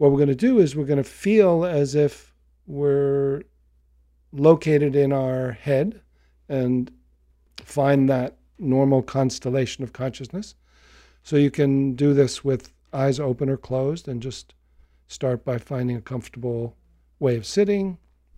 what we're going to do is we're going to feel as if we're located in our head and find that normal constellation of consciousness. So you can do this with eyes open or closed and just start by finding a comfortable way of sitting.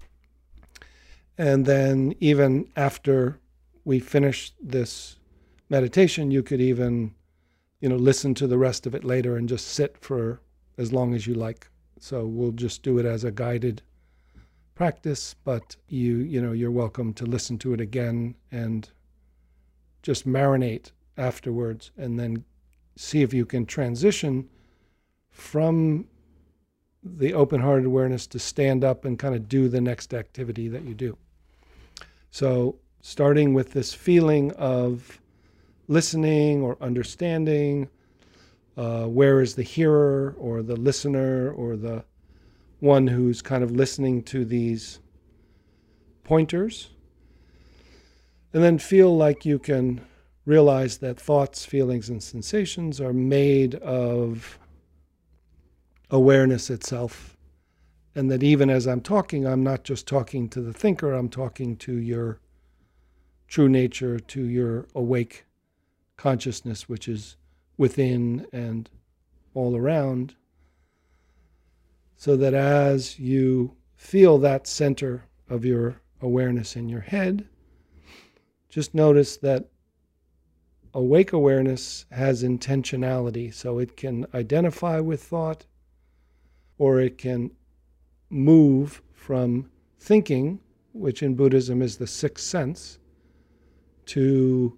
And then even after we finish this meditation, you could even, listen to the rest of it later and just sit for as long as you like. So we'll just do it as a guided practice, but you're welcome to listen to it again and just marinate afterwards, and then see if you can transition from the open-hearted awareness to stand up and kind of do the next activity that you do. So starting with this feeling of listening or understanding, where is the hearer or the listener or the one who's kind of listening to these pointers, and then feel like you can realize that thoughts, feelings, and sensations are made of awareness itself, and that even as I'm talking, I'm not just talking to the thinker, I'm talking to your true nature, to your awake consciousness, which is within and all around, so that as you feel that center of your awareness in your head, just notice that awake awareness has intentionality, so it can identify with thought, or it can move from thinking, which in Buddhism is the sixth sense, to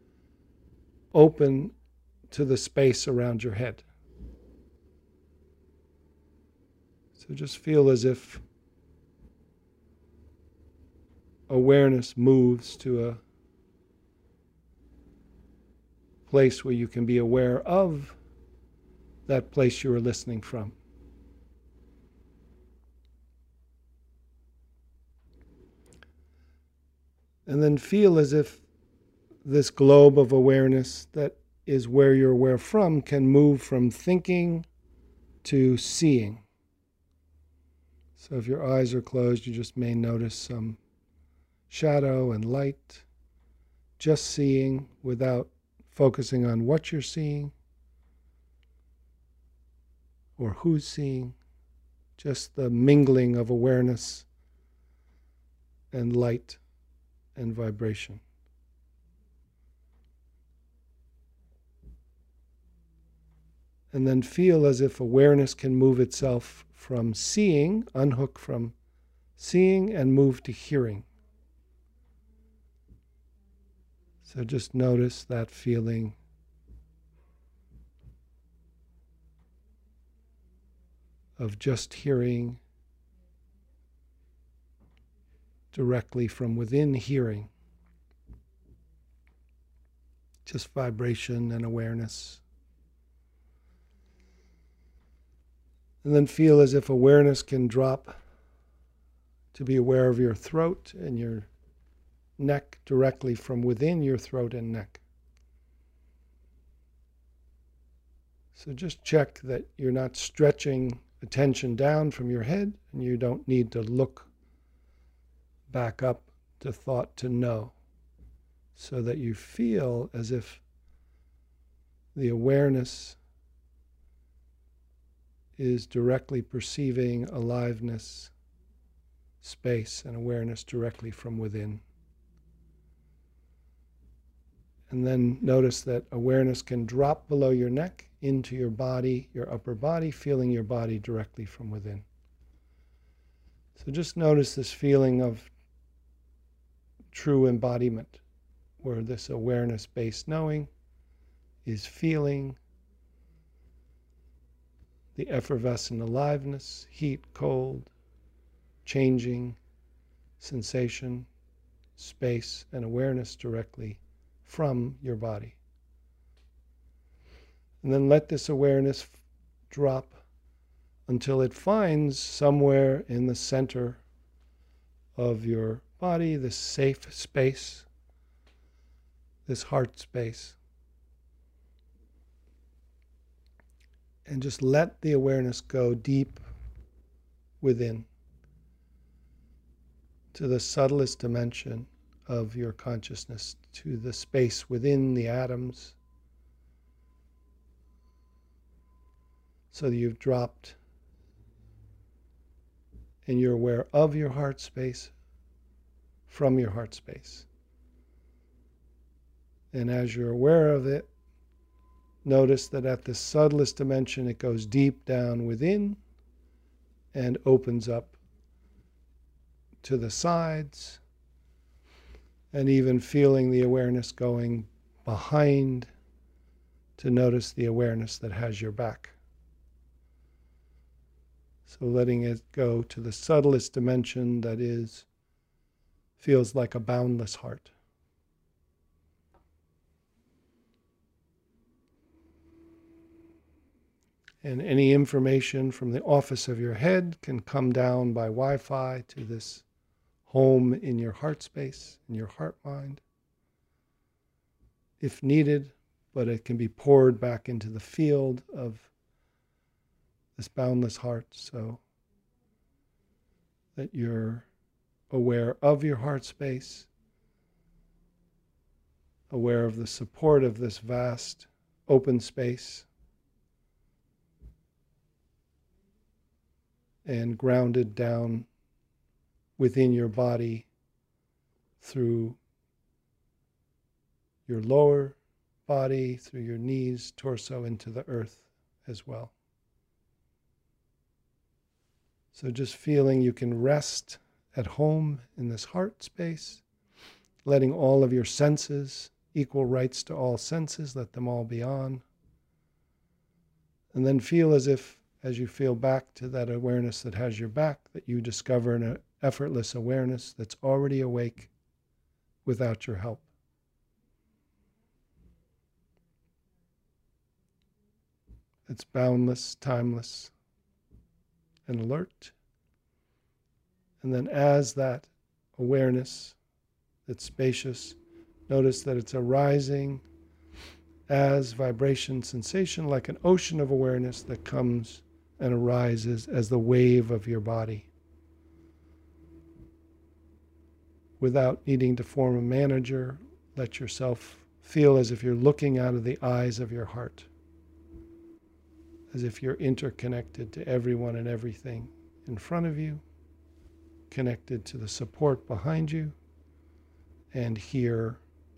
open to the space around your head. So just feel as if awareness moves to a place where you can be aware of that place you are listening from. And then feel as if this globe of awareness that is where you're aware from can move from thinking to seeing. So if your eyes are closed, you just may notice some shadow and light, just seeing without focusing on what you're seeing or who's seeing, just the mingling of awareness and light and vibration. And then feel as if awareness can move itself from seeing, unhook from seeing, and move to hearing. So just notice that feeling of just hearing directly from within hearing. Just vibration and awareness. And then feel as if awareness can drop to be aware of your throat and your neck directly from within your throat and neck. So just check that you're not stretching attention down from your head, and you don't need to look back up to thought to know, so that you feel as if the awareness is directly perceiving aliveness, space, and awareness directly from within. And then notice that awareness can drop below your neck into your body, your upper body, feeling your body directly from within. So just notice this feeling of true embodiment, where this awareness-based knowing is feeling the effervescent aliveness, heat, cold, changing, sensation, space, and awareness directly from your body. And then let this awareness drop until it finds somewhere in the center of your body this safe space, this heart space. And just let the awareness go deep within to the subtlest dimension of your consciousness, to the space within the atoms, so that you've dropped and you're aware of your heart space from your heart space. And as you're aware of it, notice that at the subtlest dimension, it goes deep down within and opens up to the sides, and even feeling the awareness going behind to notice the awareness that has your back. So letting it go to the subtlest dimension that feels like a boundless heart. And any information from the office of your head can come down by Wi-Fi to this home in your heart space, in your heart mind, if needed, but it can be poured back into the field of this boundless heart, so that you're aware of your heart space, aware of the support of this vast open space, and grounded down within your body through your lower body, through your knees, torso, into the earth as well. So just feeling you can rest at home in this heart space, letting all of your senses, equal rights to all senses, let them all be on. And then feel as you feel back to that awareness that has your back, that you discover an effortless awareness that's already awake without your help. It's boundless, timeless, and alert. And then as that awareness that's spacious, notice that it's arising as vibration, sensation, like an ocean of awareness that comes and arises as the wave of your body, without needing to form a manager. Let yourself feel as if you're looking out of the eyes of your heart, as if you're interconnected to everyone and everything in front of you, connected to the support behind you, and here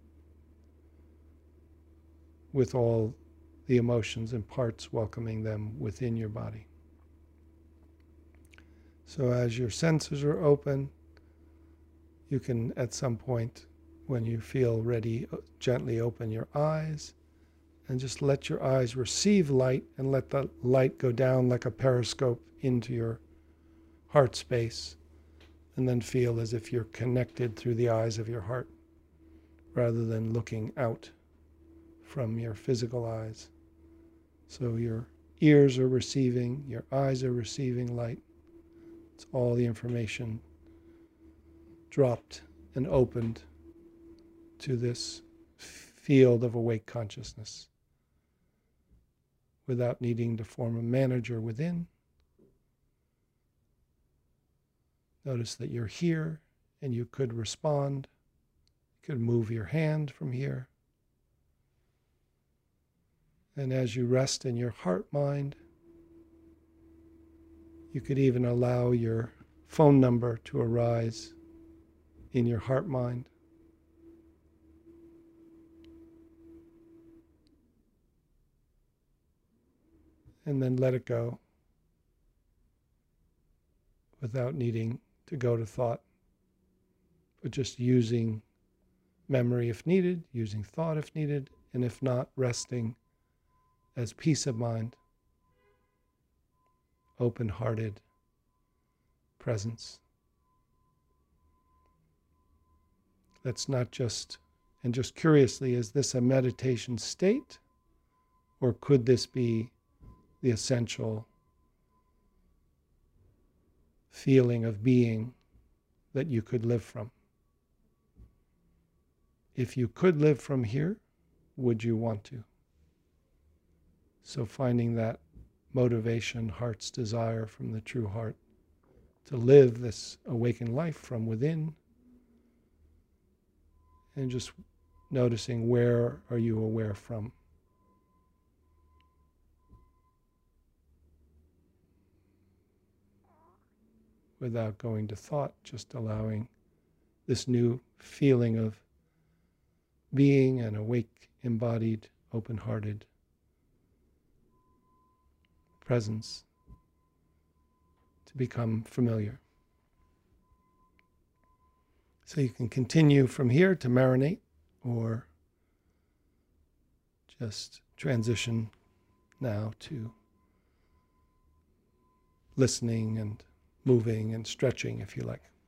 with all the emotions and parts welcoming them within your body. So as your senses are open, you can at some point, when you feel ready, gently open your eyes and just let your eyes receive light, and let the light go down like a periscope into your heart space, and then feel as if you're connected through the eyes of your heart rather than looking out from your physical eyes. So your ears are receiving, your eyes are receiving light. It's all the information dropped and opened to this field of awake consciousness without needing to form a manager within. Notice that you're here and you could respond. You could move your hand from here. And as you rest in your heart mind, you could even allow your phone number to arise in your heart mind. And then let it go without needing to go to thought, but just using memory if needed, using thought if needed, and if not, resting as peace of mind, open-hearted presence. That's not just, and just curiously, is this a meditation state, or could this be the essential feeling of being that you could live from? If you could live from here, would you want to? So finding that motivation, heart's desire from the true heart to live this awakened life from within, and just noticing where are you aware from. Without going to thought, just allowing this new feeling of being an awake, embodied, open-hearted presence to become familiar. So you can continue from here to marinate, or just transition now to listening and moving and stretching if you like.